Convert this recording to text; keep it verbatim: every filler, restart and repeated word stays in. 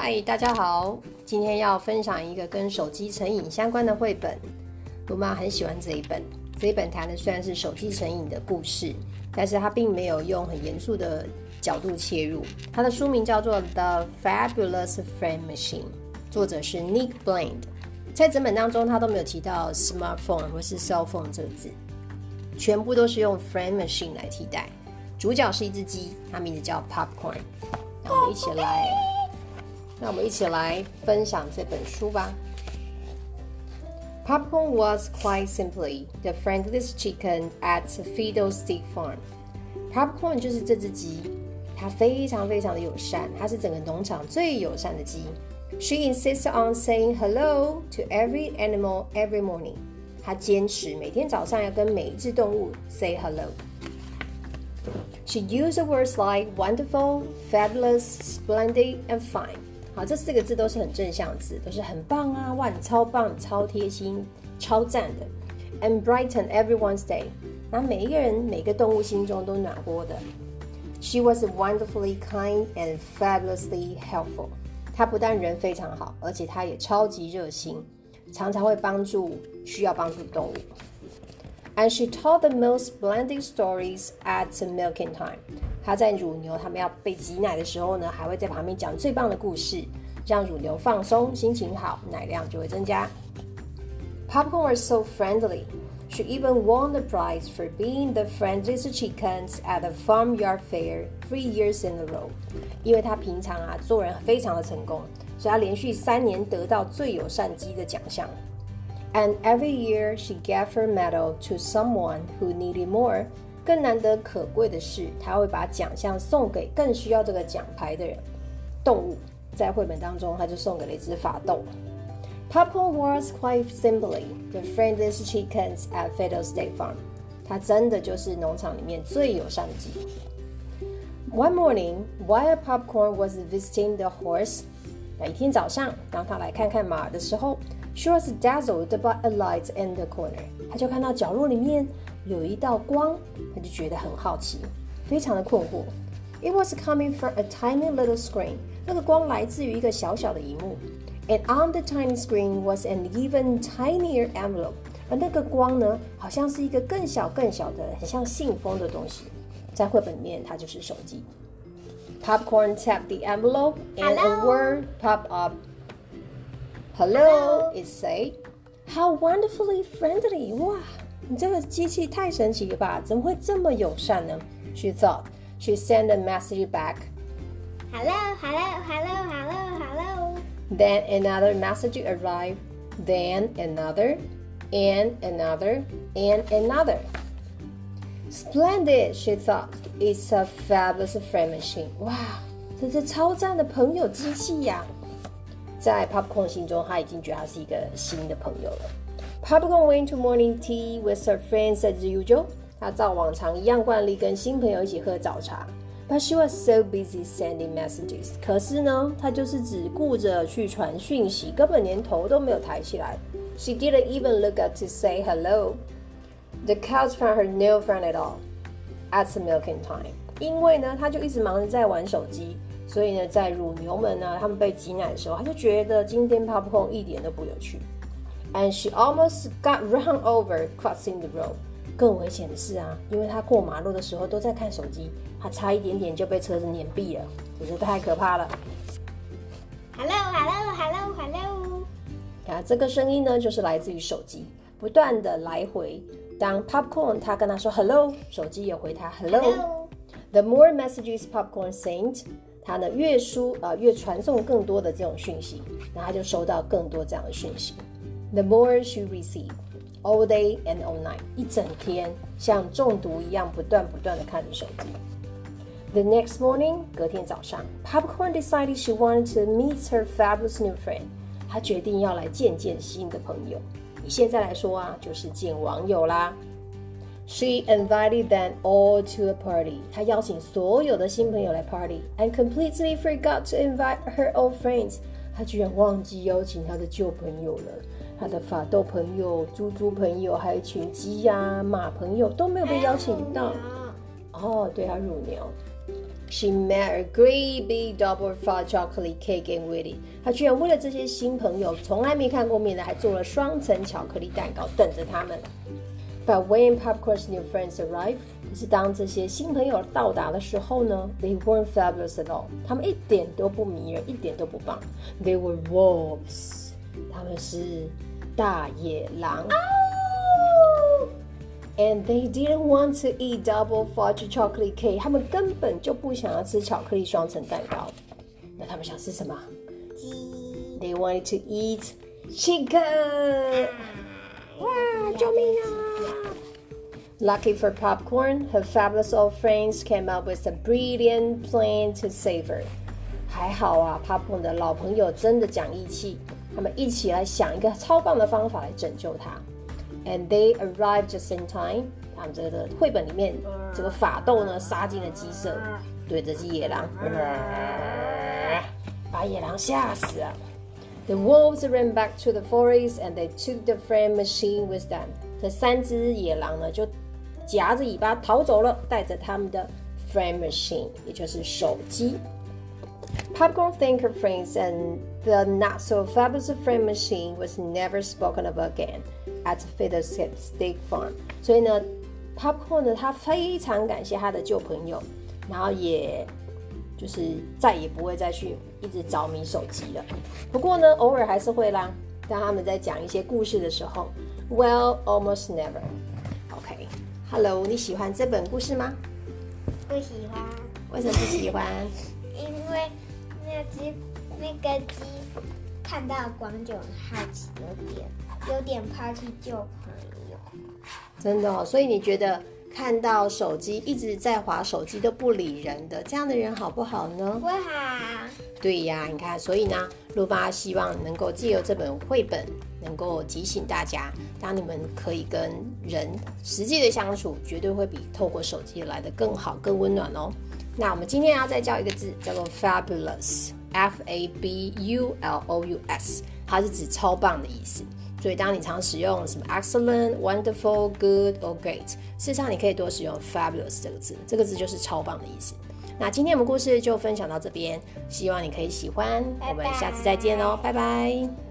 嗨，大家好，今天要分享一个跟手机成瘾相关的绘本。罗妈很喜欢这一本，这一本谈的虽然是手机成瘾的故事，但是它并没有用很严肃的角度切入。它的书名叫做 The Fabulous Friend Machine， 作者是 Nick Bland。在整本当中，他都没有提到 smartphone 或是 cell phone 这个字，全部都是用 friend machine 来替代。主角是一只鸡，它名字叫 Popcorn。那我们一起来，那我们一起来分享这本书吧。Popcorn was quite simply the friendliest chicken at Fiddlestick Farm. Popcorn 就是这只鸡，它非常非常的友善，它是整个农场最友善的鸡。She insists on saying hello to every animal every morning. 她坚持每天早上要跟每一只动物 say hello.She used words like wonderful, fabulous, splendid, and fine. 好，这四个字都是很正向字，都是很棒啊，哇，你超棒、超贴心、超赞的。And brighten everyone's day. 那每一个人、每个动物心中都暖和的。She was wonderfully kind and fabulously helpful. 她不但人非常好，而且她也超级热心，常常会帮助需要帮助的动物。And she told the most splendid stories at milking time. 她在乳牛他们要被挤奶的时候呢，还会在旁边讲最棒的故事，让乳牛放松，心情好，奶量就会增加。Popcorn was so friendly. She even won the prize for being the friendliest chickens at the farmyard fair three years in a row. 因为她平常啊做人非常的成功，所以她连续三年得到最友善鸡的奖项。And every year she gave her medal to someone who needed more. 更难得可贵的是，她会把奖项送给更需要这个奖牌的人。动物在绘本当中，她就送给了一只法斗。Popcorn was quite simply the friendliest chickens at Fiddlestick Farm. 她真的就是农场里面最友善的鸡。One morning, while Popcorn was visiting the horse, 那一天早上，当她来看看马的时候，She was dazzled by a light in the corner. 她就看到角落里面有一道光，她就觉得很好奇，非常的困惑。It was coming from a tiny little screen. 那个光来自于一个小小的萤幕。And on the tiny screen was an even tinier envelope. 而那个光呢，好像是一个更小更小的，很像信封的东西。在绘本里面，它就是手机。Popcorn tapped the envelope, and a word popped up.Hello, it said. How wonderfully friendly! 哇，你这个机器太神奇了吧？怎么会这么友善呢？ She thought. She sent a message back. Hello, hello, hello, hello, hello. Then another message arrived. Then another, and another, and another. Splendid, she thought. It's a fabulous friend machine. 哇，这是超赞的朋友机器呀！在 Popcorn 心中，他已经觉得他是一个新的朋友了。Popcorn went to morning tea with her friends as usual. 他照往常一样惯例跟新朋友一起喝早茶。But she was so busy sending messages. 可是呢，她就是只顾着去传讯息，根本连头都没有抬起来。She didn't even look up to say hello. The cows found her no fun at all at milking time. 因为呢，她就一直忙着在玩手机。所以呢，在乳牛们呢，他们被挤奶的时候，他就觉得今天 Popcorn 一点都不有趣。And she almost got run over crossing the road. 更危险的是啊，因为他过马路的时候都在看手机，他差一点点就被车子碾毙了，真是太可怕了。 Hello, hello, hello, hello. 啊，这个声音呢，就是来自于手机，不断的来回。当 Popcorn 他跟他说 Hello， 手机也回他 Hello。The more messages Popcorn sent.他呢越输呃越传送更多的这种讯息，那他就收到更多这样的讯息。The more she received, all day and all night， 一整天像中毒一样不断不断的看着手机。The next morning， 隔天早上 ，Popcorn decided she wanted to meet her fabulous new friend。她决定要来见见新的朋友。以现在来说啊，就是见网友啦。She invited them all to a party. 她邀请所有的新朋友来 party, and completely forgot to invite her old friends. 她居然忘记邀请她的旧朋友了。她的法斗朋友、猪猪朋友，还有一群鸡呀、马朋友都没有被邀请到。哦，对啊，乳牛。 She made a great big double fudge chocolate cake and with it. 她居然为了这些新朋友，从来没看过面的，还做了双层巧克力蛋糕等着他们。But when Popcorn's new friends arrived, 可是当这些新朋友到达的时候呢 ，They weren't fabulous at all. 他们一点都不迷人，一点都不棒。They were wolves. 他们是大野狼。And they didn't want to eat double fudge chocolate cake. 他们根本就不想要吃巧克力双层蛋糕。那他们想吃什么？ 鸡。 They wanted to eat chicken. 哇，救命啊 ！Lucky for Popcorn, her fabulous old friends came up with a brilliant plan to save her. 还好啊 ，Popcorn 的老朋友真的讲义气，他们一起来想一个超棒的方法来拯救她。And they arrived just in time. 他们这个绘本里面，这个法斗呢杀进了鸡舍，对着野狼，把野狼吓死了。The wolves ran back to the forest and they took the friend machine with them. 这三只野狼呢就夹着尾巴逃走了，带着他们的 friend machine， 也就是手机。Popcorn thanked her friends and the not so fabulous friend machine was never spoken of again at Fiddlestick Farm. 所以呢 ，Popcorn 呢，他非常感谢他的旧朋友，然后也就是再也不会再去一直着迷手机了。不过呢，偶尔还是会啦。当他们在讲一些故事的时候 ，Well, almost never. OK, Hello， 你喜欢这本故事吗？ 不喜欢。 为什么不喜欢？ 因为那只那个鸡看到光就很好奇，有点有点抛弃旧朋友。 真的哦，所以你觉得看到手机一直在滑手机都不理人的这样的人好不好呢？ 不好。 对呀，你看，所以呢，露巴希望能够借由这本绘本，能够提醒大家，当你们可以跟人实际的相处，绝对会比透过手机来得更好、更温暖哦。那我们今天要再教一个字，叫做 fabulous，F A B U L O U S， 它是指超棒的意思。所以当你常使用什么 excellent, wonderful, good or great， 事实上你可以多使用 fabulous 这个字，这个字就是超棒的意思。那今天我们故事就分享到这边，希望你可以喜欢，我们下次再见喽，拜拜。